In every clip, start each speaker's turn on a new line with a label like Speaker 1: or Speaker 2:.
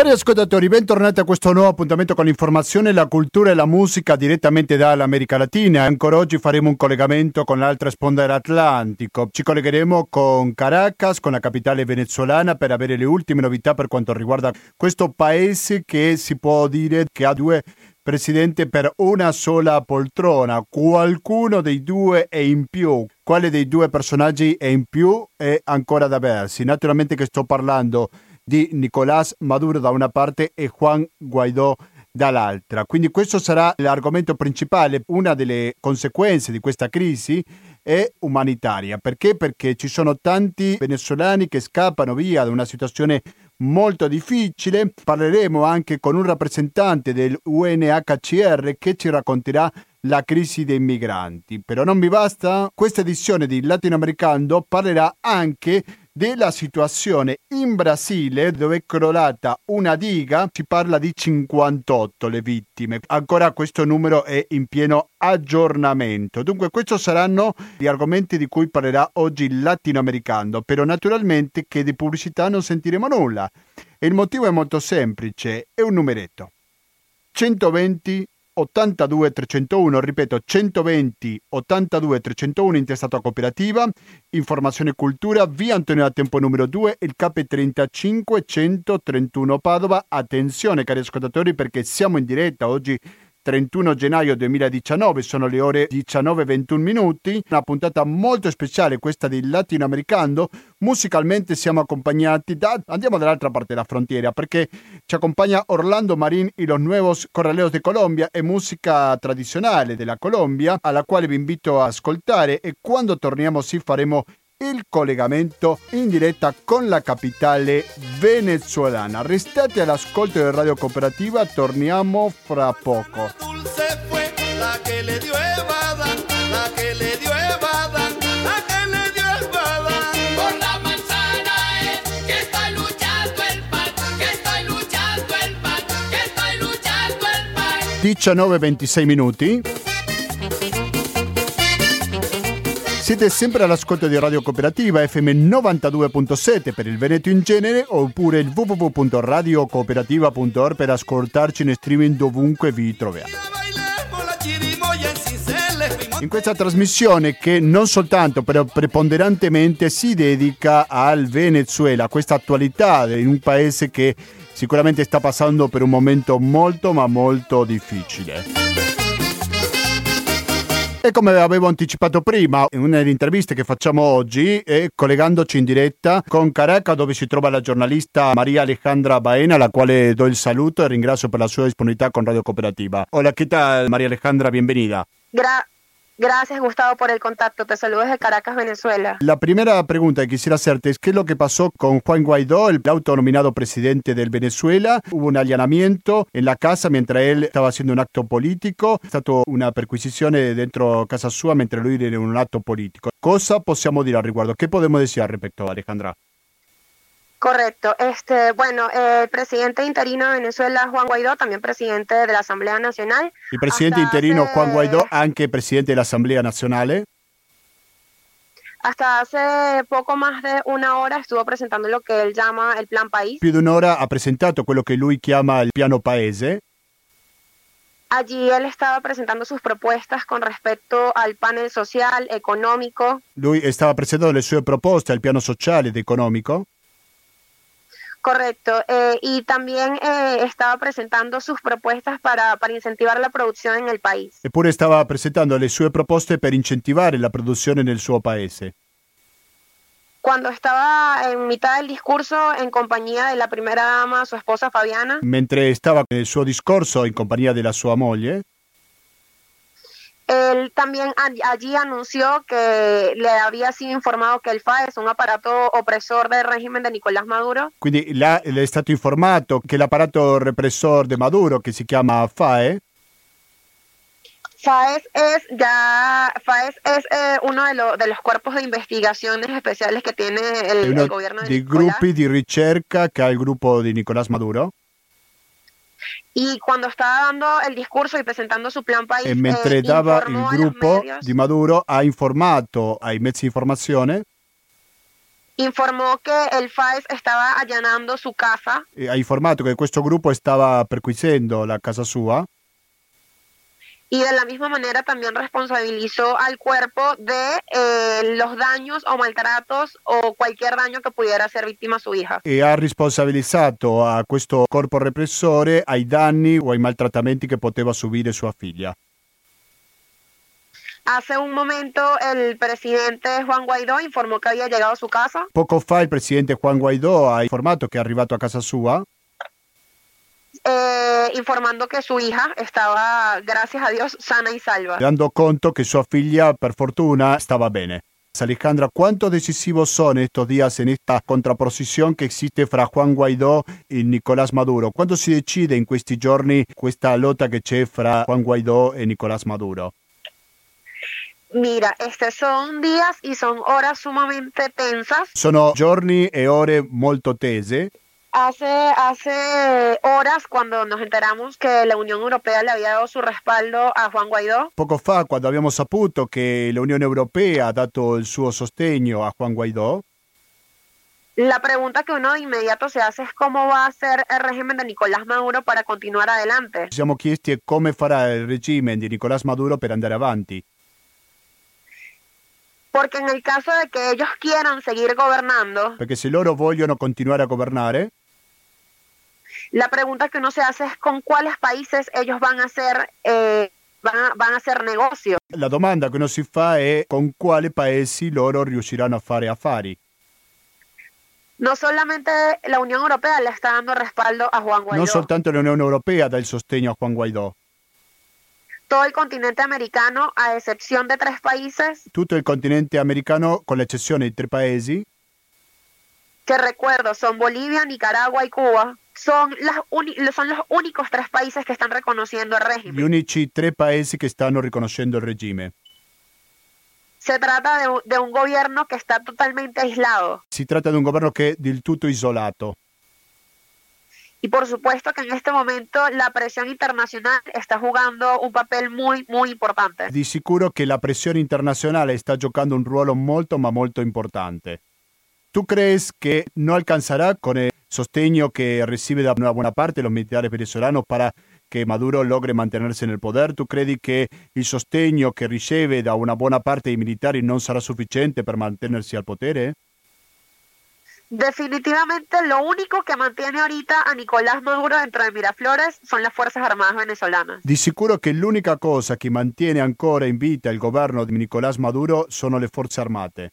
Speaker 1: Cari ascoltatori, bentornati a questo nuovo appuntamento con l'informazione, la cultura e la musica direttamente dall'America Latina. Ancora oggi faremo un collegamento con l'altra sponda dell'Atlantico. Ci collegheremo con Caracas, con la capitale venezuelana, per avere le ultime novità per quanto riguarda questo paese che si può dire che ha due presidenti per una sola poltrona. Qualcuno dei due è in più. Quale dei due personaggi è in più è ancora da versi. Naturalmente che sto parlando di Nicolás Maduro da una parte e Juan Guaidó dall'altra. Quindi questo sarà l'argomento principale. Una delle conseguenze di questa crisi è umanitaria. Perché? Perché ci sono tanti venezuelani che scappano via da una situazione molto difficile. Parleremo anche con un rappresentante del UNHCR che ci racconterà la crisi dei migranti. Però non mi basta. Questa edizione di Latinoamericano parlerà anche della situazione in Brasile, dove è crollata una diga. Si parla di 58 le vittime. Ancora questo numero è in pieno aggiornamento. Dunque questi saranno gli argomenti di cui parlerà oggi il Latinoamericano, però naturalmente che di pubblicità non sentiremo nulla. E il motivo è molto semplice, è un numeretto. 120 82 301, ripeto 120 82 301, intestato a Cooperativa, Informazione e Cultura, via Antonio da Tempo numero 2, il KP 131 Padova. Attenzione cari ascoltatori, perché siamo in diretta oggi 31 gennaio 2019, sono le ore 19:21, una puntata molto speciale questa di Latinoamericano. Musicalmente siamo accompagnati andiamo dall'altra parte della frontiera, perché ci accompagna Orlando Marín y los Nuevos Corraleos de Colombia, è musica tradizionale della Colombia, alla quale vi invito a ascoltare, e quando torniamo faremo il collegamento in diretta con la capitale venezuelana. Restate all'ascolto di Radio Cooperativa, torniamo fra poco. Diciannove 26 minuti. Siete sempre all'ascolto di Radio Cooperativa FM 92.7 per il Veneto in genere, oppure il www.radiocooperativa.org per ascoltarci in streaming dovunque vi troviate. In questa trasmissione, che non soltanto però preponderantemente si dedica al Venezuela, questa attualità in un paese che sicuramente sta passando per un momento molto ma molto difficile. E come avevo anticipato prima, in una delle interviste che facciamo oggi, è collegandoci in diretta con Caracas, dove si trova la giornalista María Alejandra Baena, alla quale do il saluto e ringrazio per la sua disponibilità con Radio Cooperativa. Hola, ¿qué tal, María Alejandra? Bienvenida.
Speaker 2: Gracias, Gustavo, por el contacto. Te saludo desde Caracas, Venezuela.
Speaker 1: La primera pregunta que quisiera hacerte es: ¿qué es lo que pasó con Juan Guaidó, el autonominado presidente del Venezuela? Hubo un allanamiento en la casa mientras él estaba haciendo un atto politico. È stata una perquisizione dentro casa sua mentre lui era in un atto politico. Cosa possiamo dire al riguardo? ¿Qué podemos decir al respecto, Alejandra?
Speaker 2: Correcto. Bueno, el presidente interino de Venezuela, Juan Guaidó, también presidente de la Asamblea Nacional.
Speaker 1: Il presidente interino Juan Guaidó, anche presidente dell'Assemblea Nazionale.
Speaker 2: Hasta hace poco más de una hora estuvo presentando lo que él llama el Plan País.
Speaker 1: Più di un'ora ha presentato quello che lui chiama il piano paese.
Speaker 2: Allí él estaba presentando sus propuestas con respecto al panel social, económico.
Speaker 1: Lui stava presentando le sue proposte al piano sociale ed economico.
Speaker 2: Correcto, y también estaba presentando sus propuestas para incentivar la producción en el país.
Speaker 1: Eppure stava presentando le sue proposte per incentivare la produzione nel suo paese.
Speaker 2: Cuando estaba en mitad del discurso en compañía de la primera dama, su esposa Fabiana.
Speaker 1: Mentre stava nel suo discorso in compagnia della sua moglie,
Speaker 2: él también allí anunció que le había sido informado que el FAE es un aparato opresor del régimen de Nicolás Maduro.
Speaker 1: Quindi le è stato informato che l'apparato repressor de Maduro, che si chiama FAE,
Speaker 2: FAES es uno de los cuerpos de investigaciones especiales que tiene el gobierno de
Speaker 1: dei
Speaker 2: Nicolás.
Speaker 1: gruppi di ricerca che ha il gruppo di Nicolás Maduro.
Speaker 2: Y cuando estaba dando el discurso y presentando su plan país,
Speaker 1: e mentre dava il gruppo di Maduro ha informato ai mezzi di informazione
Speaker 2: informó che il FAES stava allanando su casa
Speaker 1: Ha informato che questo gruppo stava perquisendo la casa sua
Speaker 2: y de la misma manera también responsabilizó al cuerpo de los daños o maltratos o cualquier daño que pudiera ser víctima su hija.
Speaker 1: e ha responsabilizzato a questo corpo repressore ai danni o ai maltrattamenti che poteva subire sua figlia.
Speaker 2: Hace un momento el presidente Juan Guaidó informó que había llegado a su casa.
Speaker 1: Poco fa il presidente Juan Guaidó ha informato che è arrivato a casa sua
Speaker 2: Informando que su hija estaba, gracias a Dios, sana y salva.
Speaker 1: dando conto che sua figlia, per fortuna, stava bene. Alejandra, ¿cuánto decisivos son estos días en esta contraposición que existe fra Juan Guaidó y Nicolás Maduro? ¿Cuándo si decide in questi giorni questa lotta che c'è fra Juan Guaidó e Nicolás Maduro?
Speaker 2: Mira, son días y son horas sumamente tensas.
Speaker 1: Sono giorni e ore molto tese.
Speaker 2: Hace horas cuando nos enteramos que la Unión Europea le había dado su respaldo a Juan Guaidó,
Speaker 1: Poco fa, quando abbiamo saputo che l'Unione Europea ha dato il suo sostegno a Juan Guaidó,
Speaker 2: la pregunta que uno de inmediato se hace es cómo va a ser el régimen de Nicolás Maduro para continuar adelante.
Speaker 1: ci siamo chiesti come farà il regime di Nicolás Maduro per andare avanti.
Speaker 2: Porque en el caso de que ellos quieran seguir gobernando,
Speaker 1: Perché se loro vogliono continuare a governare,
Speaker 2: la pregunta que uno se hace es con cuáles países ellos van a hacer van a hacer negocio.
Speaker 1: la domanda che uno si fa è con quali paesi loro riusciranno a fare affari.
Speaker 2: No solamente la Unión Europea le está dando respaldo a Juan Guaidó,
Speaker 1: Non soltanto l'Unione Europea dà il sostegno a Juan Guaidó,
Speaker 2: todo el continente americano, a excepción de 3 países,
Speaker 1: tutto il continente americano, con l'eccezione di 3 paesi,
Speaker 2: que recuerdo son Bolivia, Nicaragua y Cuba, son los únicos 3 países que están reconociendo el
Speaker 1: gli
Speaker 2: régimen.
Speaker 1: unici 3 paesi che stanno riconoscendo il regime.
Speaker 2: Se trata de un gobierno que está totalmente aislado.
Speaker 1: Si tratta di un governo che è del tutto isolato.
Speaker 2: Y por supuesto que en este momento la presión internacional está jugando un papel muy, muy importante.
Speaker 1: Di sicuro che la pressione internazionale sta giocando un ruolo molto ma molto importante. ¿Tú crees que no alcanzará con el sostegno que recibe de una buena parte de los militares venezolanos para que Maduro logre mantenerse en el poder? ¿Tú credi che il sostegno che riceve da una buona parte dei militari non sarà sufficiente per mantenersi al potere?
Speaker 2: Definitivamente lo único que mantiene ahorita a Nicolás Maduro dentro de Miraflores son las Fuerzas Armadas venezolanas.
Speaker 1: Di sicuro che l'unica cosa che mantiene ancora in vita il governo di Nicolás Maduro sono le forze armate.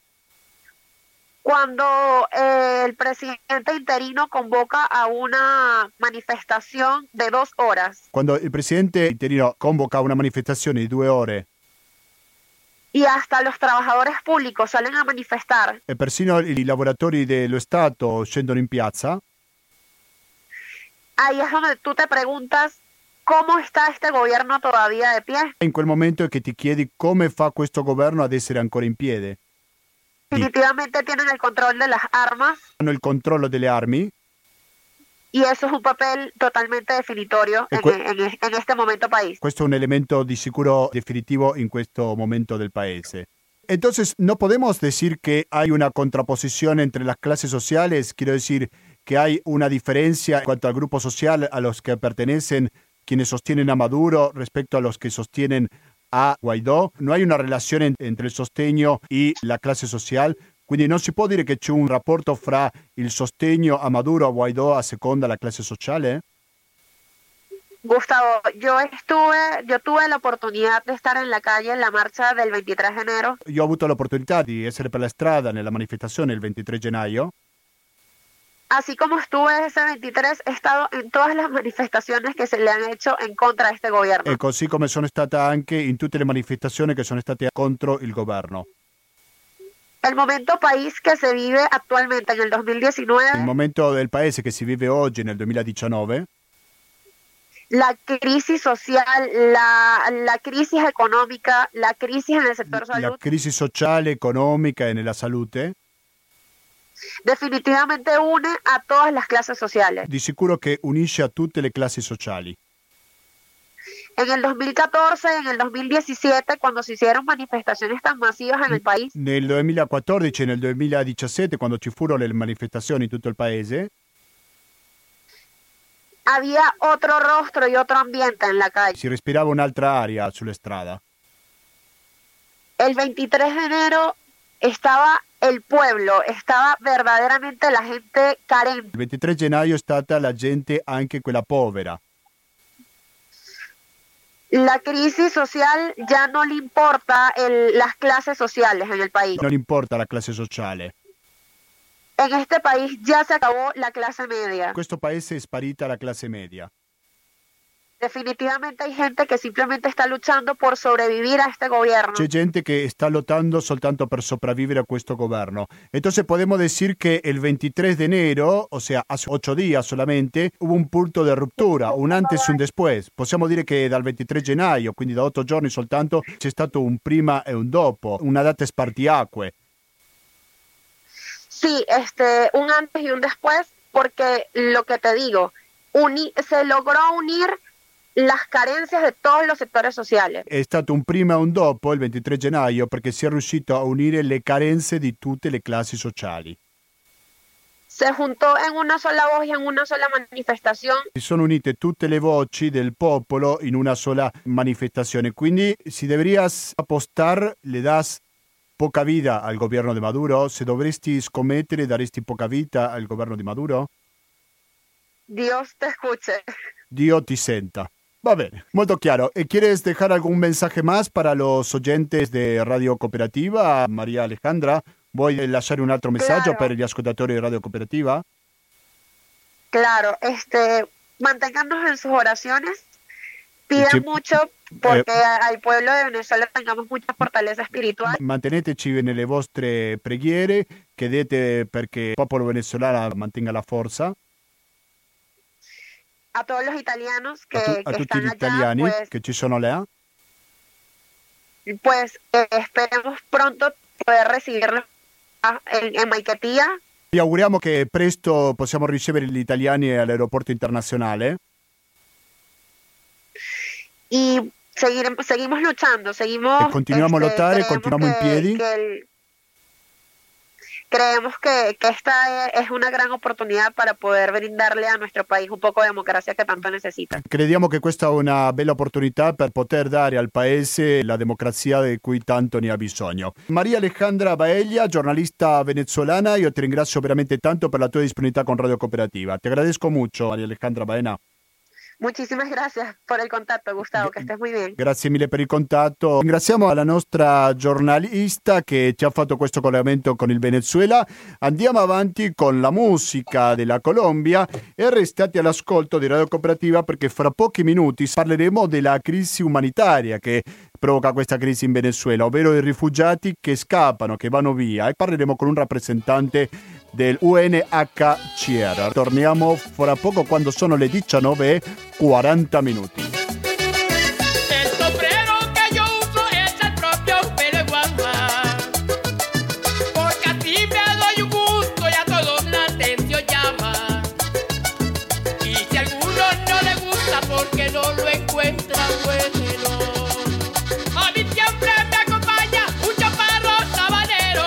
Speaker 2: Cuando el presidente interino convoca a una manifestación de 2 horas
Speaker 1: Quando il presidente interino convoca una manifestazione di 2 ore
Speaker 2: y hasta los trabajadores públicos salen a manifestar,
Speaker 1: e persino i lavoratori dello Stato scendono in piazza,
Speaker 2: ahí es donde tú te preguntas cómo está este gobierno todavía de pie.
Speaker 1: in quel momento è che ti chiedi come fa questo governo ad essere ancora in piedi.
Speaker 2: Definitivamente tienen el control de las armas
Speaker 1: Hanno il controllo delle armi
Speaker 2: y eso es un papel totalmente definitorio en este momento país.
Speaker 1: Questo è un elemento di sicuro definitivo in questo momento del paese. Entonces, ¿no podemos decir que hay una contraposición entre las clases sociales? Quiero decir que hay una diferencia en cuanto al grupo social a los que pertenecen quienes sostienen a Maduro respecto a los que sostienen a Guaidó. No hay una relazione entre il sostegno e la classe sociale. Quindi non si può dire che c'è un rapporto fra il sostegno a Maduro, a Guaidó, a seconda la classe sociale?
Speaker 2: Gustavo, yo tuve la oportunidad de estar en la calle en la marcha del 23 de enero.
Speaker 1: Io ho avuto l'opportunità di essere per la strada nella manifestazione il 23 gennaio.
Speaker 2: Así como estuve ese 23, he estado en todas las manifestaciones que se le han hecho en contra de este gobierno.
Speaker 1: E così come sono stata anche in tutte le manifestazioni che sono state contro il governo.
Speaker 2: El momento país que se vive actualmente en el 2019,
Speaker 1: Il momento del paese che si vive oggi nel 2019,
Speaker 2: la crisis social, la crisis económica, la crisis en el sector
Speaker 1: la
Speaker 2: salud,
Speaker 1: crisi sociale, economica e nella salute,
Speaker 2: definitivamente une a todas las clases sociales.
Speaker 1: di sicuro che unisce a tutte le classi sociali.
Speaker 2: En el 2014 y en el 2017, cuando se hicieron manifestaciones tan masivas en il paese.
Speaker 1: Nel 2014 e nel 2017, quando ci furono le manifestazioni in tutto il paese,
Speaker 2: Había otro rostro y otro ambiente en la calle.
Speaker 1: si respirava un'altra aria sulle strade.
Speaker 2: El 23 de enero estaba el pueblo, estaba verdaderamente la gente carente.
Speaker 1: Il 23 gennaio è stata la gente anche quella povera.
Speaker 2: La crisis social ya no le importa las clases sociales en el país.
Speaker 1: Non importa la classe sociale.
Speaker 2: En este país ya se acabó la clase media.
Speaker 1: In questo paese è sparita la classe media.
Speaker 2: Definitivamente hay gente que simplemente está luchando por sobrevivir a este gobierno.
Speaker 1: C'è gente che sta lottando soltanto per sopravvivere a questo governo. Entonces podemos decir que el 23 de enero, o sea, hace 8 días solamente, hubo un punto de ruptura, un antes e un después. Possiamo dire che dal 23 gennaio, quindi da 8 giorni soltanto, c'è stato un prima e un dopo, una data spartiacque.
Speaker 2: Sí, un antes y un después, porque lo que te digo, se logró unir las carencias de todos los sectores sociales.
Speaker 1: È stato un prima e un dopo il 23 gennaio perché si è riuscito a unire le carenze di tutte le classi sociali.
Speaker 2: Se juntó en una sola voz y en una sola manifestación.
Speaker 1: Si sono unite tutte le voci del popolo in una sola manifestazione. Quindi si deberías apostar, le das poca vida al governo di Maduro. Se dovresti scommettere, daresti poca vita al governo di Maduro?
Speaker 2: Dios te escuche.
Speaker 1: Dio ti senta. Va bene, molto chiaro. ¿Y quieres dejar algún mensaje más para los oyentes de Radio Cooperativa, María Alejandra? ¿Vuoi lasciare un altro messaggio per gli ascoltatori di Radio Cooperativa?
Speaker 2: Claro, manténgannos en sus oraciones, pidan mucho porque al pueblo de Venezuela tengamos mucha fortaleza espiritual.
Speaker 1: Manteneteci nelle vostre preghiere, chiedete perché il popolo venezuelano mantenga la forza.
Speaker 2: A todos los italianos que,
Speaker 1: a
Speaker 2: que
Speaker 1: tutti
Speaker 2: están
Speaker 1: gli
Speaker 2: allá,
Speaker 1: italiani
Speaker 2: pues,
Speaker 1: che ci sono là.
Speaker 2: Pues esperemos pronto poder recibirlos en Maiquetía.
Speaker 1: Vi auguriamo che presto possiamo ricevere gli italiani all'aeroporto internazionale.
Speaker 2: Y seguimos luchando, seguimos...
Speaker 1: E continuiamo a lottare, continuiamo in piedi.
Speaker 2: Creemos que esta es una gran oportunidad para poder brindarle a nuestro país un poco de democracia que tanto necesita.
Speaker 1: Crediamo che questa è una bella opportunità per poter dare al paese la democrazia di cui tanto ne ha bisogno. Maria Alejandra Baella, giornalista venezuelana, io ti ringrazio veramente tanto per la tua disponibilità con Radio Cooperativa. Ti agradezco mucho, Maria Alejandra Baena.
Speaker 2: Muchísimas gracias por el contacto, Gustavo, que estés muy bien.
Speaker 1: Grazie mille per il contatto. Ringraziamo la nostra giornalista che ci ha fatto questo collegamento con il Venezuela. Andiamo avanti con la musica della Colombia e restate all'ascolto di Radio Cooperativa perché fra pochi minuti parleremo della crisi umanitaria che provoca questa crisi in Venezuela, ovvero i rifugiati che scappano, che vanno via, e parleremo con un rappresentante del UNHCR. Torniamo fra poco quando sono le 19:40.
Speaker 3: El sombrero que yo uso es el propio pelo de guagua, porque así me doy un gusto y a todos la atención llama. Y si a alguno no le gusta porque no lo encuentra bueno, a mí siempre me acompaña un chaparro sabanero.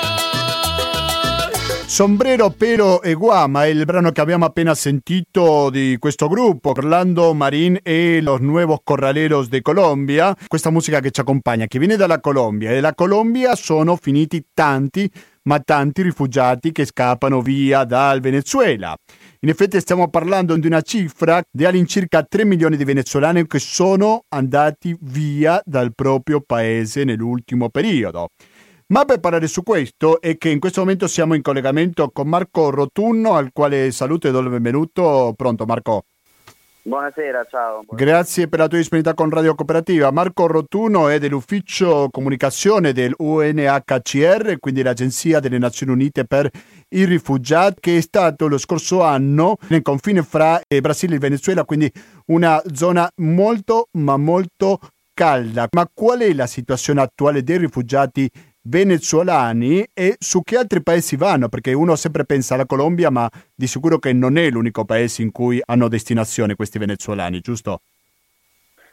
Speaker 1: Sombrero, pelo e guama è il brano che abbiamo appena sentito di questo gruppo, Orlando Marín e Los Nuevos Corraleros de Colombia. Questa musica che ci accompagna, che viene dalla Colombia, e dalla Colombia sono finiti tanti rifugiati che scappano via dal Venezuela. In effetti stiamo parlando di una cifra di all'incirca 3 milioni di venezuelani che sono andati via dal proprio paese nell'ultimo periodo. Ma per parlare su questo è che in questo momento siamo in collegamento con Marco Rotunno, al quale saluto e do il benvenuto. Pronto Marco?
Speaker 4: Buonasera, ciao.
Speaker 1: Grazie per la tua disponibilità con Radio Cooperativa. Marco Rotunno è dell'ufficio comunicazione del UNHCR, quindi l'Agenzia delle Nazioni Unite per i rifugiati, che è stato lo scorso anno nel confine fra Brasile e Venezuela, quindi una zona molto ma molto calda. Ma qual è la situazione attuale dei rifugiati venezuelani e su che altri paesi vanno? Perché uno sempre pensa alla Colombia, ma di sicuro che non è l'unico paese in cui hanno destinazione questi venezuelani, giusto?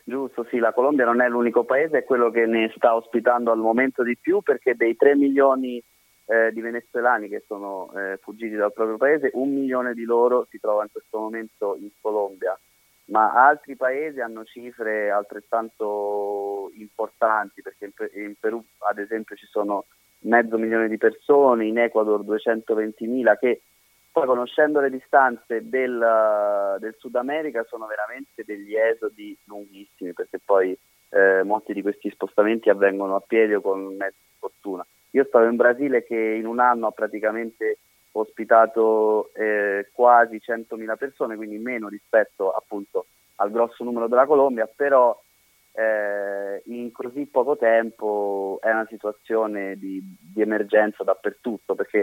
Speaker 4: Giusto, sì, la Colombia non è l'unico paese, è quello che ne sta ospitando al momento di più, perché dei 3 milioni di venezuelani che sono fuggiti dal proprio paese, 1 milione di loro si trova in questo momento in Colombia, ma altri paesi hanno cifre altrettanto importanti, perché in Perù ad esempio ci sono 500.000 di persone, in Ecuador 220.000, che poi, conoscendo le distanze del Sud America, sono veramente degli esodi lunghissimi, perché poi molti di questi spostamenti avvengono a piedi o con mezzi di fortuna. Io stavo in Brasile, che in un anno ha praticamente ospitato quasi 100.000 persone, quindi meno rispetto appunto al grosso numero della Colombia, però in così poco tempo è una situazione di emergenza dappertutto, perché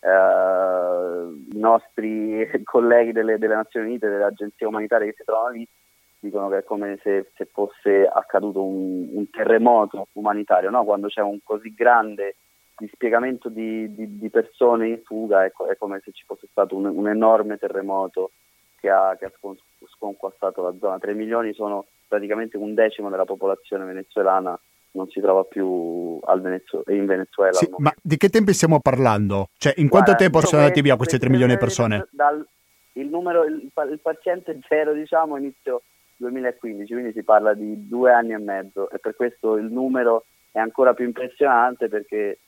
Speaker 4: i nostri colleghi delle Nazioni Unite, delle agenzie umanitarie che si trovano lì, dicono che è come se fosse accaduto un terremoto umanitario, no? Quando c'è un così grande dispiegamento di persone in fuga, è come se ci fosse stato un enorme terremoto che ha sconquassato la zona. 3 milioni sono praticamente 1/10 della popolazione venezuelana, non si trova più in Venezuela.
Speaker 1: Sì, ma di che tempi stiamo parlando? Cioè, in quanto tempo sono andati via questi 3 milioni di persone?
Speaker 4: Il paziente zero, diciamo, inizio 2015, quindi si parla di 2 anni e mezzo, e per questo il numero è ancora più impressionante, perché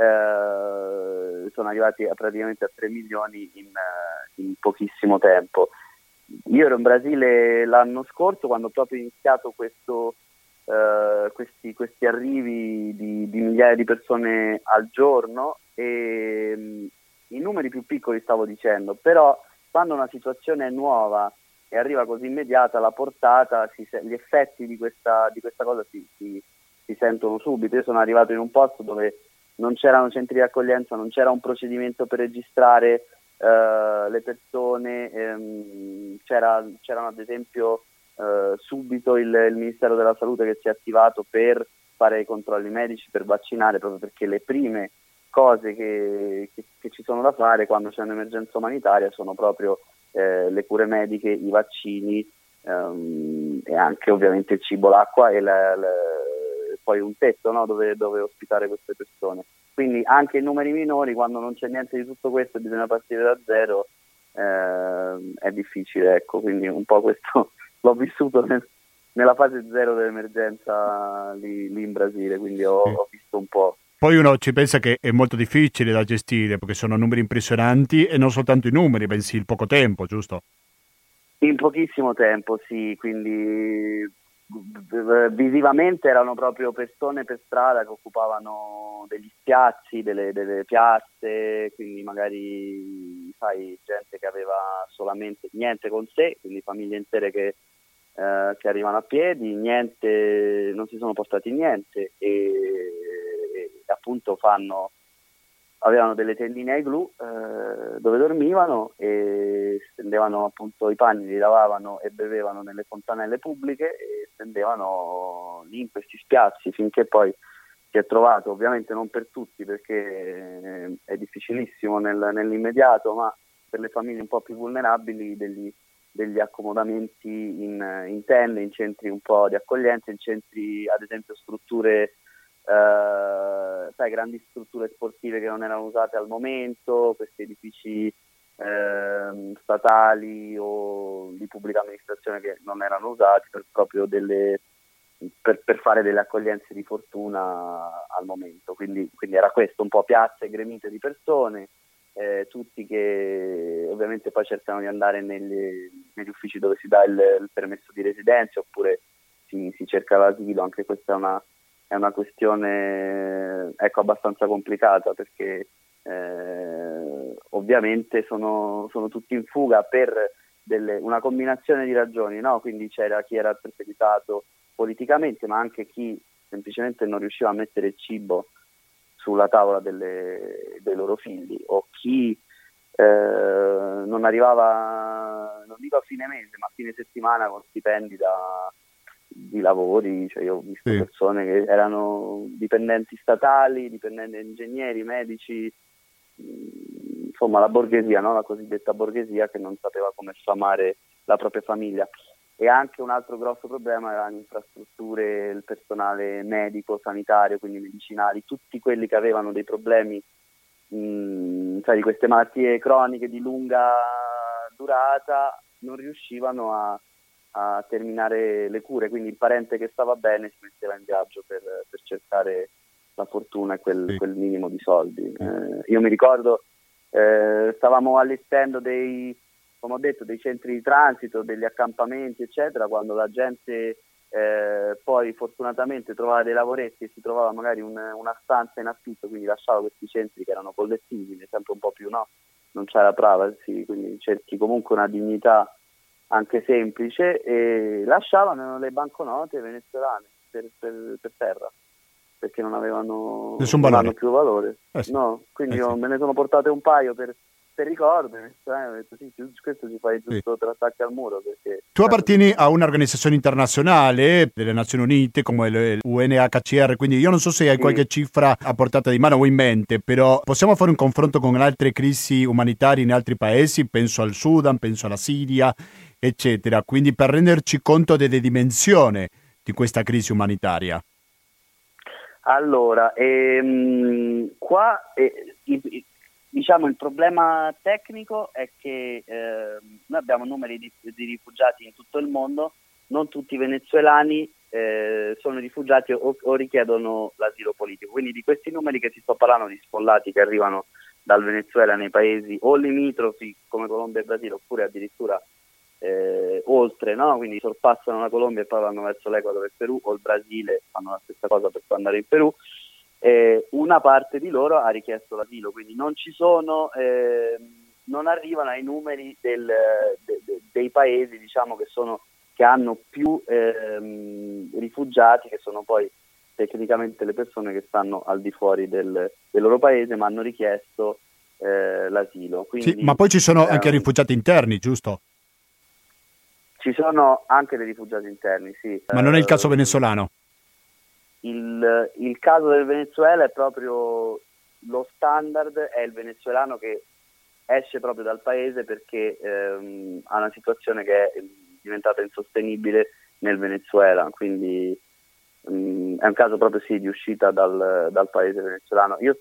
Speaker 4: sono arrivati praticamente a 3 milioni in pochissimo tempo. Io ero in Brasile l'anno scorso, quando proprio ho iniziato questi arrivi di migliaia di persone al giorno, e i numeri più piccoli stavo dicendo, però quando una situazione è nuova e arriva così immediata, la portata, gli effetti di questa cosa si sentono subito. Io sono arrivato in un posto dove non c'erano centri di accoglienza, non c'era un procedimento per registrare le persone, c'erano ad esempio subito il Ministero della Salute che si è attivato per fare i controlli medici, per vaccinare, proprio perché le prime cose che ci sono da fare quando c'è un'emergenza umanitaria sono proprio le cure mediche, i vaccini, e anche ovviamente il cibo, l'acqua e poi un tetto, no, dove ospitare queste persone. Quindi anche in numeri minori, quando non c'è niente di tutto questo e bisogna partire da zero, è difficile, ecco. Quindi un po' questo l'ho vissuto nella fase zero dell'emergenza lì in Brasile, quindi ho visto un po'.
Speaker 1: Poi uno ci pensa che è molto difficile da gestire, perché sono numeri impressionanti, e non soltanto i numeri, bensì il poco tempo, giusto?
Speaker 4: In pochissimo tempo, sì, quindi visivamente erano proprio persone per strada che occupavano degli spiazzi, delle piazze, quindi magari, sai, gente che aveva solamente niente con sé, quindi famiglie intere che arrivano a piedi, niente, non si sono portati niente, e appunto avevano delle tendine ai glu dove dormivano, e stendevano appunto i panni, li lavavano e bevevano nelle fontanelle pubbliche, e stendevano lì in questi spiazzi finché poi si è trovato, ovviamente non per tutti, perché è difficilissimo nell'immediato, ma per le famiglie un po' più vulnerabili, degli accomodamenti in tende, in centri un po' di accoglienza, in centri, ad esempio, strutture, sai, grandi strutture sportive che non erano usate al momento, questi edifici statali o di pubblica amministrazione che non erano usati proprio per fare delle accoglienze di fortuna al momento. Quindi era questo, un po' piazze gremite di persone, tutti che ovviamente poi cercano di andare negli uffici dove si dà il permesso di residenza, oppure si cerca l'asilo. Anche questa è una questione, ecco, abbastanza complicata, perché ovviamente sono tutti in fuga per una combinazione di ragioni, no? Quindi c'era chi era perseguitato politicamente, ma anche chi semplicemente non riusciva a mettere il cibo sulla tavola dei loro figli, o chi non arrivava, non dico a fine mese, ma a fine settimana con stipendi di lavori. Cioè, io ho visto persone che erano dipendenti statali, dipendenti ingegneri, medici, insomma la borghesia, no? La cosiddetta borghesia, che non sapeva come sfamare la propria famiglia. e anche un altro grosso problema erano le infrastrutture, il personale medico, sanitario, quindi medicinali, tutti quelli che avevano dei problemi sai, di queste malattie croniche di lunga durata non riuscivano a terminare le cure, quindi il parente che stava bene si metteva in viaggio per cercare la fortuna e quel minimo di soldi. Io mi ricordo, stavamo allestendo come ho detto, dei centri di transito, degli accampamenti, eccetera, quando la gente poi fortunatamente trovava dei lavoretti e si trovava magari una stanza in affitto, quindi lasciava questi centri che erano collettivi, quindi sempre un po' più, no? Non c'era privacy, quindi cerchi comunque una dignità anche semplice, e lasciavano le banconote venezuelane per terra, perché non avevano più valore.
Speaker 1: Sì.
Speaker 4: No, quindi io me ne sono portate un paio per ricordo, ho detto sì, questo ci fai giusto 3 attacchi al muro. Perché
Speaker 1: tu appartieni a un'organizzazione internazionale delle Nazioni Unite come il UNHCR, quindi io non so se hai qualche cifra a portata di mano o in mente, però possiamo fare un confronto con altre crisi umanitarie in altri paesi, penso al Sudan, penso alla Siria, eccetera, quindi per renderci conto delle dimensioni di questa crisi umanitaria.
Speaker 4: Allora, qua diciamo il problema tecnico è che noi abbiamo numeri di rifugiati in tutto il mondo, non tutti i venezuelani sono rifugiati o richiedono l'asilo politico, quindi di questi numeri che ti sto parlando di sfollati che arrivano dal Venezuela nei paesi o limitrofi come Colombia e Brasile, oppure addirittura oltre, no? Quindi sorpassano la Colombia e poi vanno verso l'Equador e il Perù, o il Brasile fanno la stessa cosa per poi andare in Perù. Una parte di loro ha richiesto l'asilo, quindi non ci sono, non arrivano ai numeri dei paesi, diciamo, che hanno più rifugiati, che sono poi tecnicamente le persone che stanno al di fuori del loro paese ma hanno richiesto l'asilo. Quindi,
Speaker 1: sì, ma poi ci sono anche rifugiati interni, giusto?
Speaker 4: Ci sono anche dei rifugiati interni, sì.
Speaker 1: Ma non è il caso venezuelano?
Speaker 4: Il caso del Venezuela è proprio lo standard, è il venezuelano che esce proprio dal paese perché ha una situazione che è diventata insostenibile nel Venezuela, quindi è un caso proprio sì di uscita dal paese venezuelano. Io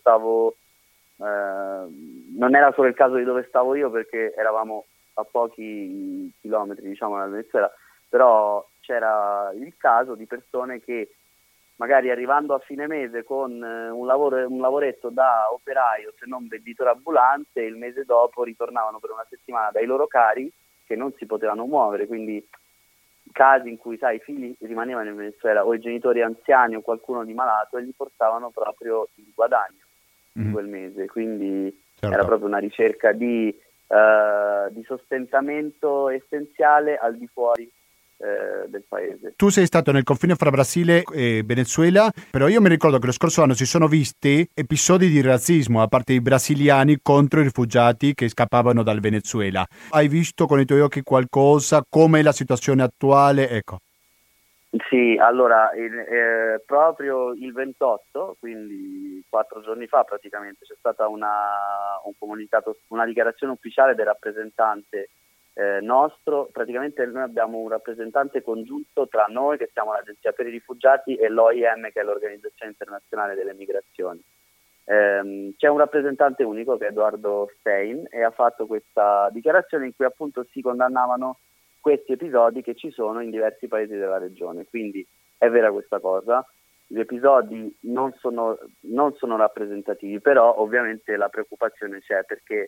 Speaker 4: non era solo il caso di dove stavo io, perché eravamo a pochi chilometri, diciamo, dal Venezuela, però c'era il caso di persone che magari arrivando a fine mese con un lavoretto da operaio, se non venditore ambulante, il mese dopo ritornavano per una settimana dai loro cari che non si potevano muovere, quindi casi in cui, sai, i figli rimanevano in Venezuela o i genitori anziani o qualcuno di malato e gli portavano proprio il guadagno di quel mese, quindi era proprio una ricerca di sostentamento essenziale al di fuori del paese.
Speaker 1: Tu sei stato nel confine fra Brasile e Venezuela, però io mi ricordo che lo scorso anno si sono visti episodi di razzismo da parte dei brasiliani contro i rifugiati che scappavano dal Venezuela. Hai visto con i tuoi occhi qualcosa? Com'è la situazione attuale? Ecco.
Speaker 4: Sì, allora proprio il 28, quindi 4 giorni fa praticamente, c'è stata un comunicato, una dichiarazione ufficiale del rappresentante nostro. Praticamente noi abbiamo un rappresentante congiunto tra noi, che siamo l'Agenzia per i Rifugiati, e l'OIM, che è l'Organizzazione Internazionale delle Migrazioni. C'è un rappresentante unico che è Eduardo Stein, e ha fatto questa dichiarazione in cui appunto si condannavano questi episodi che ci sono in diversi paesi della regione. Quindi è vera questa cosa, gli episodi non sono rappresentativi, però ovviamente la preoccupazione c'è, perché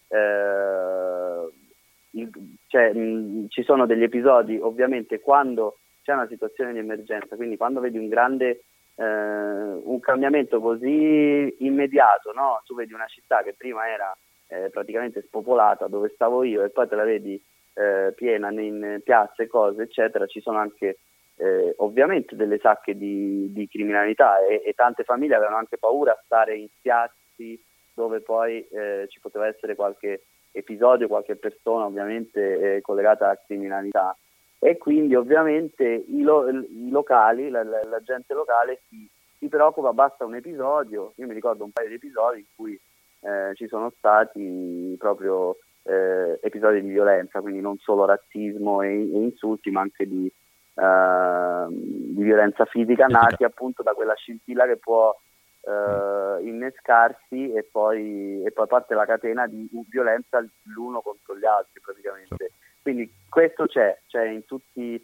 Speaker 4: ci sono degli episodi ovviamente quando c'è una situazione di emergenza, quindi quando vedi un cambiamento così immediato, no? Tu vedi una città che prima era praticamente spopolata, dove stavo io, e poi te la vedi piena in piazze, cose eccetera. Ci sono anche ovviamente delle sacche di criminalità, e tante famiglie avevano anche paura a stare in spiazzi dove poi ci poteva essere qualche episodio, qualche persona ovviamente collegata alla criminalità, e quindi ovviamente i locali, la gente locale si preoccupa. Basta un episodio, io mi ricordo un paio di episodi in cui ci sono stati proprio episodi di violenza, quindi non solo razzismo e insulti, ma anche di violenza fisica, nati appunto da quella scintilla che può innescarsi e poi parte la catena di violenza l'uno contro gli altri praticamente. Quindi questo c'è in tutti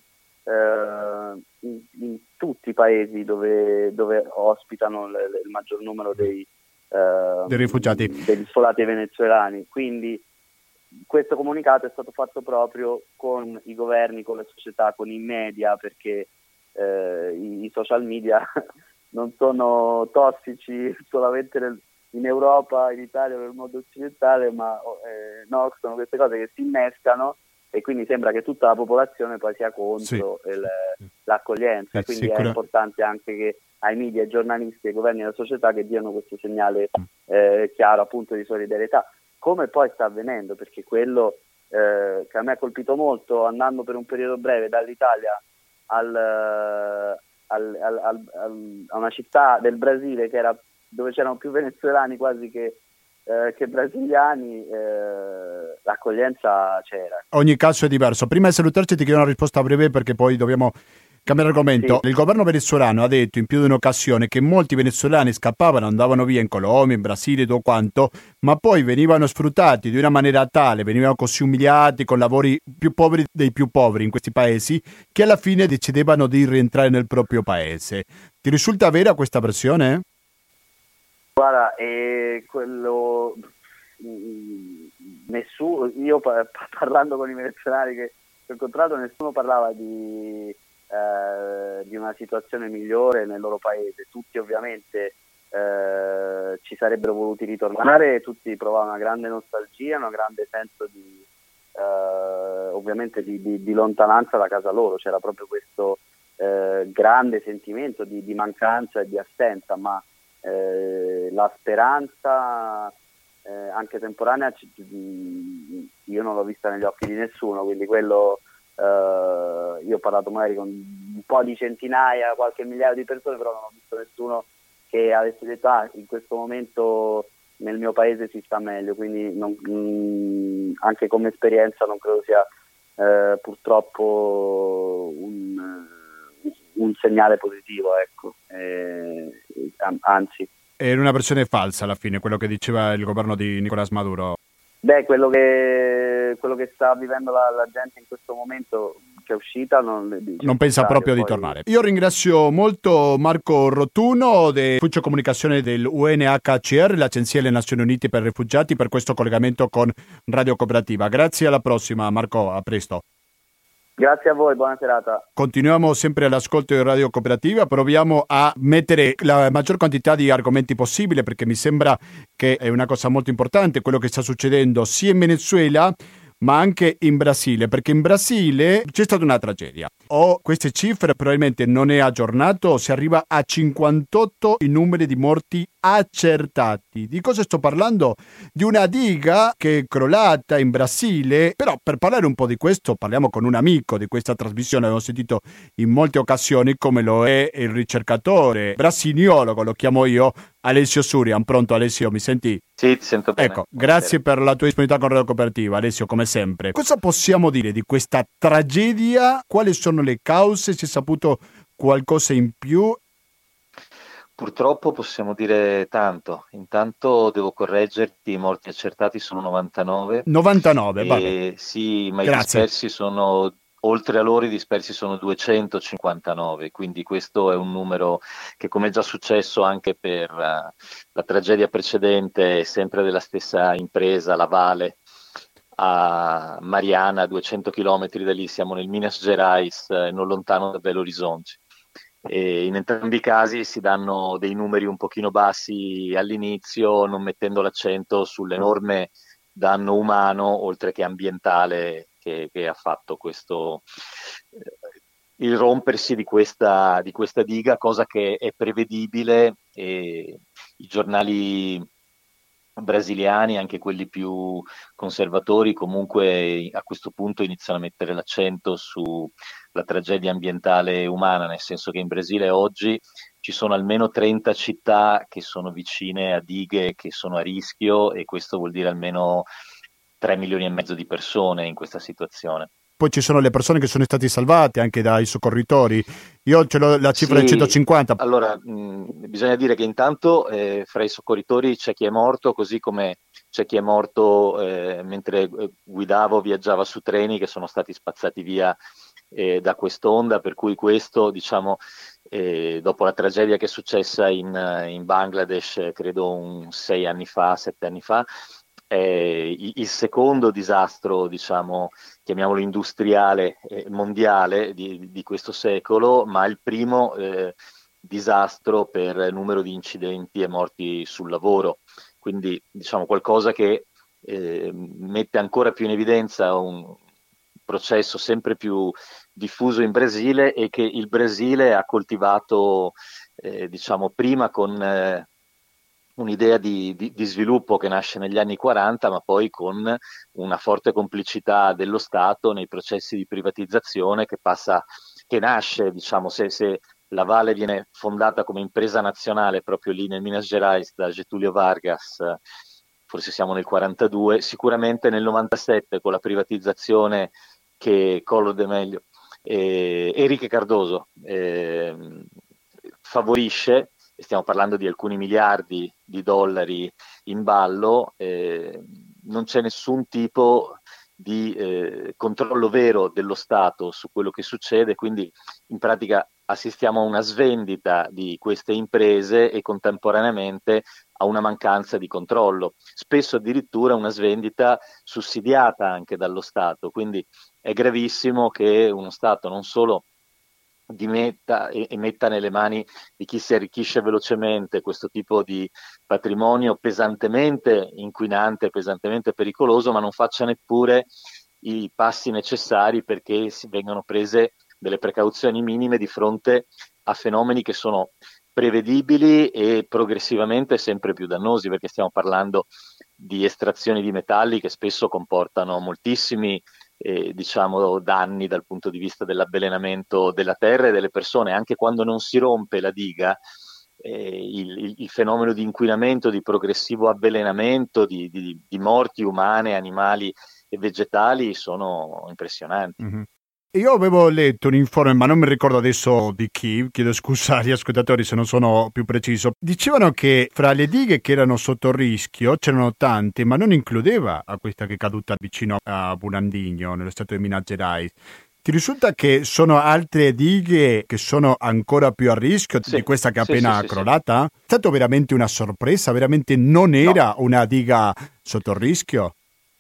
Speaker 4: in tutti i paesi dove ospitano il maggior numero dei
Speaker 1: rifugiati,
Speaker 4: degli sfollati venezuelani. Quindi questo comunicato è stato fatto proprio con i governi, con le società, con i media, perché i social media non sono tossici solamente in Europa, in Italia o nel mondo occidentale, ma no, sono queste cose che si innescano e quindi sembra che tutta la popolazione poi sia contro l'accoglienza. Quindi è importante anche che ai media, ai giornalisti, ai governi e alla società che diano questo segnale chiaro appunto di solidarietà, come poi sta avvenendo, perché quello che a me ha colpito molto andando per un periodo breve dall'Italia a una città del Brasile dove c'erano più venezuelani quasi che brasiliani, l'accoglienza c'era.
Speaker 1: Ogni caso è diverso. Prima di salutarci ti chiedo una risposta breve perché poi dobbiamo cambiare argomento. Sì. Il governo venezuelano ha detto in più di un'occasione che molti venezuelani scappavano, andavano via in Colombia, in Brasile, tutto quanto, ma poi venivano sfruttati di una maniera tale, venivano così umiliati con lavori più poveri dei più poveri in questi paesi, che alla fine decidevano di rientrare nel proprio paese. Ti risulta vera questa versione?
Speaker 4: Guarda, quello nessuno, io parlando con i venezuelani che ho incontrato, nessuno parlava di una situazione migliore nel loro paese. Tutti ovviamente ci sarebbero voluti ritornare, tutti provavano una grande nostalgia, un grande senso di ovviamente di lontananza da casa loro. C'era proprio questo grande sentimento di mancanza e di assenza, ma la speranza anche temporanea io non l'ho vista negli occhi di nessuno, quindi quello io ho parlato magari con un po' di centinaia, qualche migliaio di persone, però non ho visto nessuno che avesse detto in questo momento nel mio paese si sta meglio, quindi anche come esperienza non credo sia purtroppo un segnale positivo, ecco. Anzi.
Speaker 1: Era una versione falsa alla fine, quello che diceva il governo di Nicolás Maduro.
Speaker 4: Beh, quello che sta vivendo la gente in questo momento che è uscita non
Speaker 1: pensa proprio di tornare. Io ringrazio molto Marco Rotuno dell'Ufficio Comunicazione del UNHCR, l'Agenzia delle Nazioni Unite per i Rifugiati, per questo collegamento con Radio Cooperativa. Grazie, alla prossima Marco, a presto.
Speaker 4: Grazie a voi, buona serata.
Speaker 1: Continuiamo sempre all'ascolto di Radio Cooperativa, proviamo a mettere la maggior quantità di argomenti possibile perché mi sembra che è una cosa molto importante quello che sta succedendo sia in Venezuela ma anche in Brasile, perché in Brasile c'è stata una tragedia. Queste cifre probabilmente non è aggiornato, si arriva a 58 i numeri di morti accertati. Di cosa sto parlando? Di una diga che è crollata in Brasile, però per parlare un po' di questo parliamo con un amico di questa trasmissione, abbiamo sentito in molte occasioni come lo è il ricercatore brasiliologo, lo chiamo io, Alessio Surian. Pronto Alessio, mi senti?
Speaker 5: Sì, ti sento bene.
Speaker 1: Ecco, grazie per la tua disponibilità con Radio Cooperativa, Alessio, come sempre. Cosa possiamo dire di questa tragedia? Quali sono le cause? Si è saputo qualcosa in più?
Speaker 5: Purtroppo possiamo dire tanto. Intanto devo correggerti, i morti accertati sono 99.
Speaker 1: 99, vabbè.
Speaker 5: Sì, ma
Speaker 1: grazie.
Speaker 5: I dispersi sono... Oltre a loro i dispersi sono 259, quindi questo è un numero che, come è già successo anche per la tragedia precedente, sempre della stessa impresa, la Vale, a Mariana, 200 chilometri da lì, siamo nel Minas Gerais, non lontano da Belo Horizonte. E in entrambi i casi si danno dei numeri un pochino bassi all'inizio, non mettendo l'accento sull'enorme danno umano, oltre che ambientale, che ha fatto questo il rompersi di questa diga, cosa che è prevedibile, e i giornali brasiliani, anche quelli più conservatori, comunque a questo punto iniziano a mettere l'accento sulla tragedia ambientale umana, nel senso che in Brasile oggi ci sono almeno 30 città che sono vicine a dighe che sono a rischio, e questo vuol dire almeno 3 milioni e mezzo di persone in questa situazione.
Speaker 1: Poi ci sono le persone che sono state salvate anche dai soccorritori. Io ce l'ho la cifra di 150.
Speaker 5: Allora, bisogna dire che intanto fra i soccorritori c'è chi è morto, così come c'è chi è morto mentre guidava, viaggiava su treni che sono stati spazzati via da quest'onda, per cui questo, diciamo, dopo la tragedia che è successa in Bangladesh, credo 7 anni fa, il secondo disastro, diciamo, chiamiamolo industriale mondiale di questo secolo, ma il primo disastro per numero di incidenti e morti sul lavoro. Quindi, diciamo, qualcosa che mette ancora più in evidenza un processo sempre più diffuso in Brasile e che il Brasile ha coltivato, diciamo, prima con un'idea di sviluppo che nasce negli anni 40, ma poi con una forte complicità dello Stato nei processi di privatizzazione che nasce, diciamo, se la Vale viene fondata come impresa nazionale proprio lì nel Minas Gerais da Getúlio Vargas, forse siamo nel 42, sicuramente nel 97 con la privatizzazione che Collor de Mello Henrique Cardoso favorisce. Stiamo parlando di alcuni miliardi di dollari in ballo, non c'è nessun tipo di controllo vero dello Stato su quello che succede, quindi in pratica assistiamo a una svendita di queste imprese e contemporaneamente a una mancanza di controllo, spesso addirittura una svendita sussidiata anche dallo Stato, quindi è gravissimo che uno Stato non solo metta nelle mani di chi si arricchisce velocemente questo tipo di patrimonio pesantemente inquinante, pesantemente pericoloso, ma non faccia neppure i passi necessari perché si vengano prese delle precauzioni minime di fronte a fenomeni che sono prevedibili e progressivamente sempre più dannosi, perché stiamo parlando di estrazioni di metalli che spesso comportano moltissimi diciamo danni dal punto di vista dell'avvelenamento della terra e delle persone. Anche quando non si rompe la diga, il fenomeno di inquinamento, di progressivo avvelenamento, di morti umane, animali e vegetali sono impressionanti.
Speaker 1: Mm-hmm. Io avevo letto un informe, ma non mi ricordo adesso di chi, chiedo scusa agli ascoltatori se non sono più preciso. Dicevano che fra le dighe che erano sotto rischio c'erano tante, ma non includeva a questa che è caduta vicino a Burandigno, nello stato di Minas Gerais. Ti risulta che sono altre dighe che sono ancora più a rischio di questa che è appena crollata? È stato veramente una sorpresa? Veramente non era una diga sotto rischio?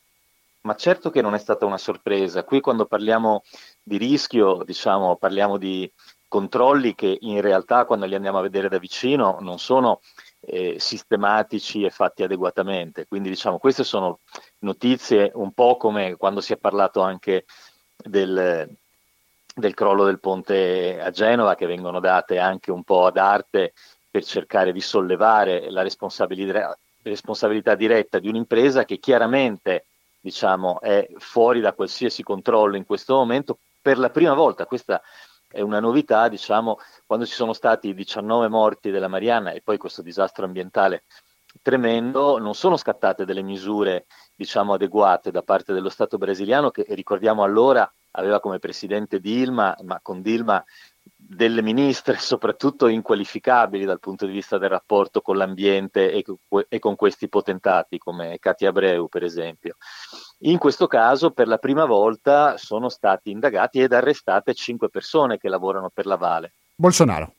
Speaker 5: Ma certo che non è stata una sorpresa. Qui quando parliamo di rischio, diciamo, parliamo di controlli che in realtà quando li andiamo a vedere da vicino non sono sistematici e fatti adeguatamente. Quindi diciamo queste sono notizie un po' come quando si è parlato anche del crollo del ponte a Genova, che vengono date anche un po' ad arte per cercare di sollevare la responsabilità diretta di un'impresa che chiaramente, diciamo, è fuori da qualsiasi controllo in questo momento. Per la prima volta, questa è una novità, diciamo, quando ci sono stati 19 morti della Marianna e poi questo disastro ambientale tremendo, non sono scattate delle misure, diciamo, adeguate da parte dello Stato brasiliano, che ricordiamo allora aveva come presidente Dilma, ma con Dilma delle ministre soprattutto inqualificabili dal punto di vista del rapporto con l'ambiente e con questi potentati come Katia Abreu per esempio. In questo caso per la prima volta sono stati indagati ed arrestate 5 persone che lavorano per la Vale.
Speaker 1: Bolsonaro.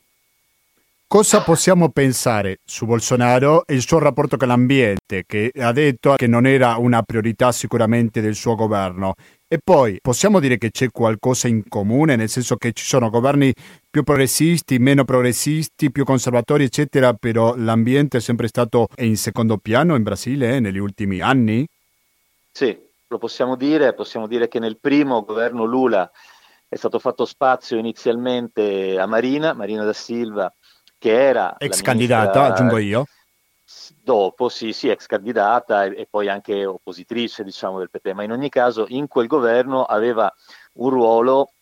Speaker 1: Cosa possiamo pensare su Bolsonaro e il suo rapporto con l'ambiente, che ha detto che non era una priorità sicuramente del suo governo? E poi possiamo dire che c'è qualcosa in comune, nel senso che ci sono governi più progressisti, meno progressisti, più conservatori, eccetera, però l'ambiente è sempre stato in secondo piano in Brasile negli ultimi anni?
Speaker 5: Sì, lo possiamo dire che nel primo governo Lula è stato fatto spazio inizialmente a Marina da Silva, che era
Speaker 1: ex candidata, aggiungo io.
Speaker 5: Dopo, sì, ex candidata e poi anche oppositrice, diciamo, del PT, ma in ogni caso in quel governo aveva un ruolo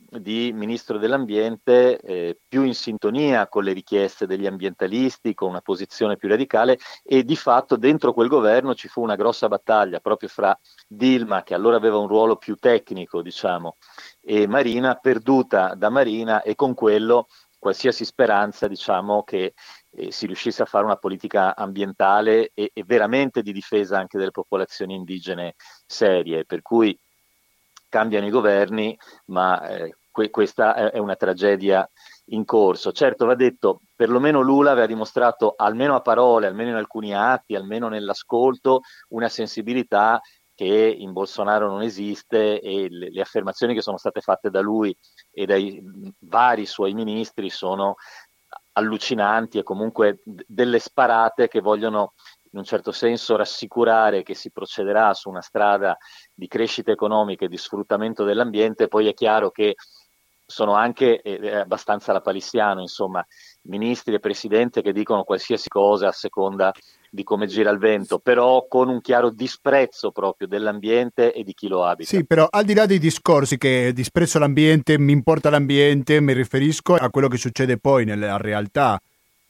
Speaker 5: di ministro dell'ambiente più in sintonia con le richieste degli ambientalisti, con una posizione più radicale, e di fatto dentro quel governo ci fu una grossa battaglia proprio fra Dilma, che allora aveva un ruolo più tecnico, diciamo, e Marina, perduta da Marina, e con quello qualsiasi speranza, diciamo, che si riuscisse a fare una politica ambientale e veramente di difesa anche delle popolazioni indigene serie, per cui cambiano i governi, ma questa è una tragedia in corso. Certo, va detto, perlomeno Lula aveva dimostrato, almeno a parole, almeno in alcuni atti, almeno nell'ascolto, una sensibilità che in Bolsonaro non esiste, e le affermazioni che sono state fatte da lui e dai vari suoi ministri sono allucinanti, e comunque delle sparate che vogliono in un certo senso rassicurare che si procederà su una strada di crescita economica e di sfruttamento dell'ambiente. Poi è chiaro che sono anche abbastanza lapalissiano, insomma, ministri e presidente che dicono qualsiasi cosa a seconda di come gira il vento, però con un chiaro disprezzo proprio dell'ambiente e di chi lo abita.
Speaker 1: Sì, però al di là dei discorsi che disprezzo l'ambiente, mi importa l'ambiente, mi riferisco a quello che succede poi nella realtà.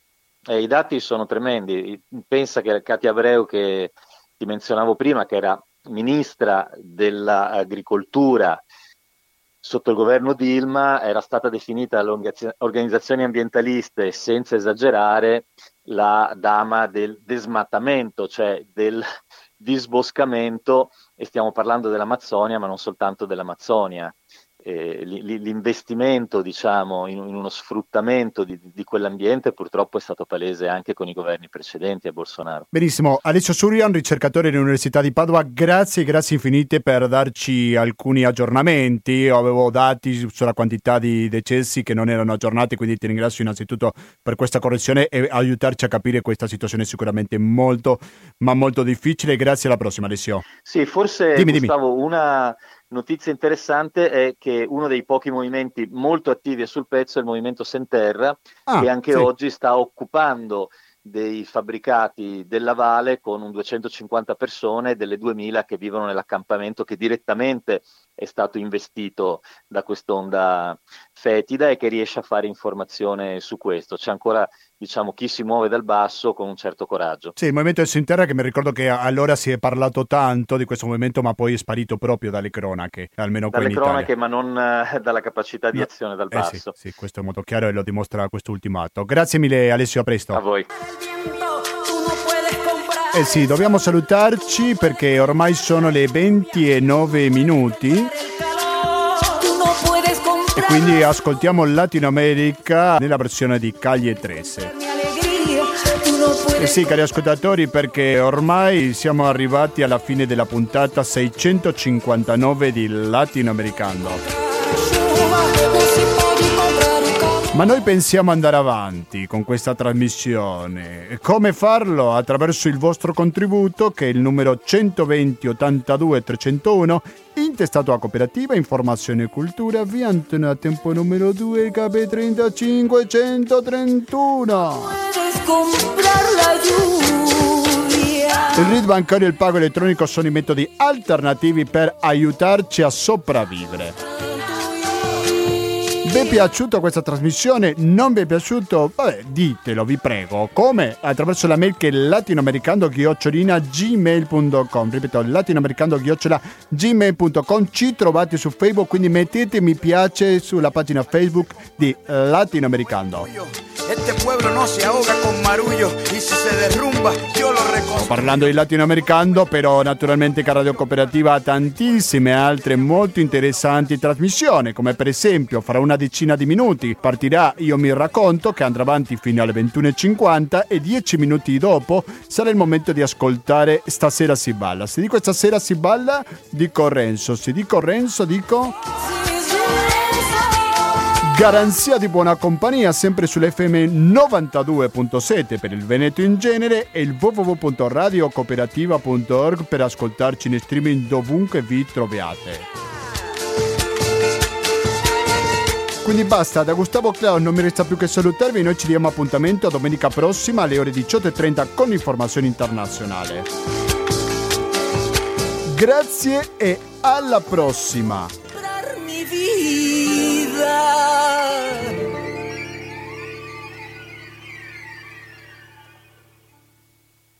Speaker 5: I dati sono tremendi. Pensa che Katia Abreu, che ti menzionavo prima, che era ministra dell'agricoltura sotto il governo Dilma, era stata definita dalle organizzazioni ambientaliste, senza esagerare, la dama del desmatamento, cioè del disboscamento, e stiamo parlando dell'Amazzonia, ma non soltanto dell'Amazzonia. L'investimento, diciamo, in uno sfruttamento di quell'ambiente purtroppo è stato palese anche con i governi precedenti a Bolsonaro.
Speaker 1: Benissimo, Alessio Surian, ricercatore dell'Università di Padova, grazie infinite per darci alcuni aggiornamenti. Avevo dati sulla quantità di decessi che non erano aggiornati, quindi ti ringrazio innanzitutto per questa correzione e aiutarci a capire questa situazione sicuramente molto, ma molto difficile. Grazie, alla prossima, Alessio.
Speaker 5: Sì, forse
Speaker 1: dimmi.
Speaker 5: Gustavo, una notizia interessante è che uno dei pochi movimenti molto attivi e sul pezzo è il movimento Senterra, che anche oggi sta occupando dei fabbricati della Vale con un 250 persone, delle 2000 che vivono nell'accampamento che direttamente è stato investito da quest'onda fetida e che riesce a fare informazione su questo. C'è ancora, diciamo, chi si muove dal basso con un certo coraggio.
Speaker 1: Sì, il movimento del Senterra, che mi ricordo che allora si è parlato tanto di questo movimento, ma poi è sparito proprio dalle cronache, almeno qui in Italia.
Speaker 5: Dalle cronache, ma non dalla capacità di azione dal basso.
Speaker 1: Sì, questo è molto chiaro e lo dimostra questo ultimo atto. Grazie mille, Alessio, a presto.
Speaker 5: A voi.
Speaker 1: Sì, dobbiamo salutarci perché ormai sono le 20:09 e quindi ascoltiamo Latino America nella versione di Calle 13. Sì, cari ascoltatori, perché ormai siamo arrivati alla fine della puntata 659 di Latinoamericano. Ma noi pensiamo andare avanti con questa trasmissione. Come farlo? Attraverso il vostro contributo, che è il numero 120 82 301, intestato a Cooperativa Informazione e Cultura, via Antonio Tempo numero 2, KP 35 131. Il RID bancario e il pago elettronico sono i metodi alternativi per aiutarci a sopravvivere. Vi è piaciuta questa trasmissione? Non vi è piaciuto? Vabbè, ditelo, vi prego. Come? Attraverso la mail che è latinoamericando@gmail.com. Ripeto, latinoamericando@gmail.com. Ci trovate su Facebook, quindi mettete mi piace sulla pagina Facebook di Latinoamericando.
Speaker 6: Este pueblo no se ahoga con marullo y si se derrumba yo lo reconstruyo.
Speaker 1: Sto parlando di Latinoamericando, però naturalmente che Radio Cooperativa ha tantissime altre molto interessanti trasmissioni, come per esempio fra una decina di minuti partirà Io mi racconto, che andrà avanti fino alle 21:50 e 10 minuti dopo sarà il momento di ascoltare Stasera si balla. Se dico Stasera si balla, dico Renzo. Se dico Renzo, dico garanzia di buona compagnia, sempre sull'FM 92.7 per il Veneto in genere e il www.radiocooperativa.org per ascoltarci in streaming dovunque vi troviate. Quindi basta, da Gustavo Clown non mi resta più che salutarvi. Noi ci diamo appuntamento a domenica prossima alle ore 18:30 con informazione internazionale. Grazie e alla prossima.
Speaker 6: Mi vida.
Speaker 7: ciudad.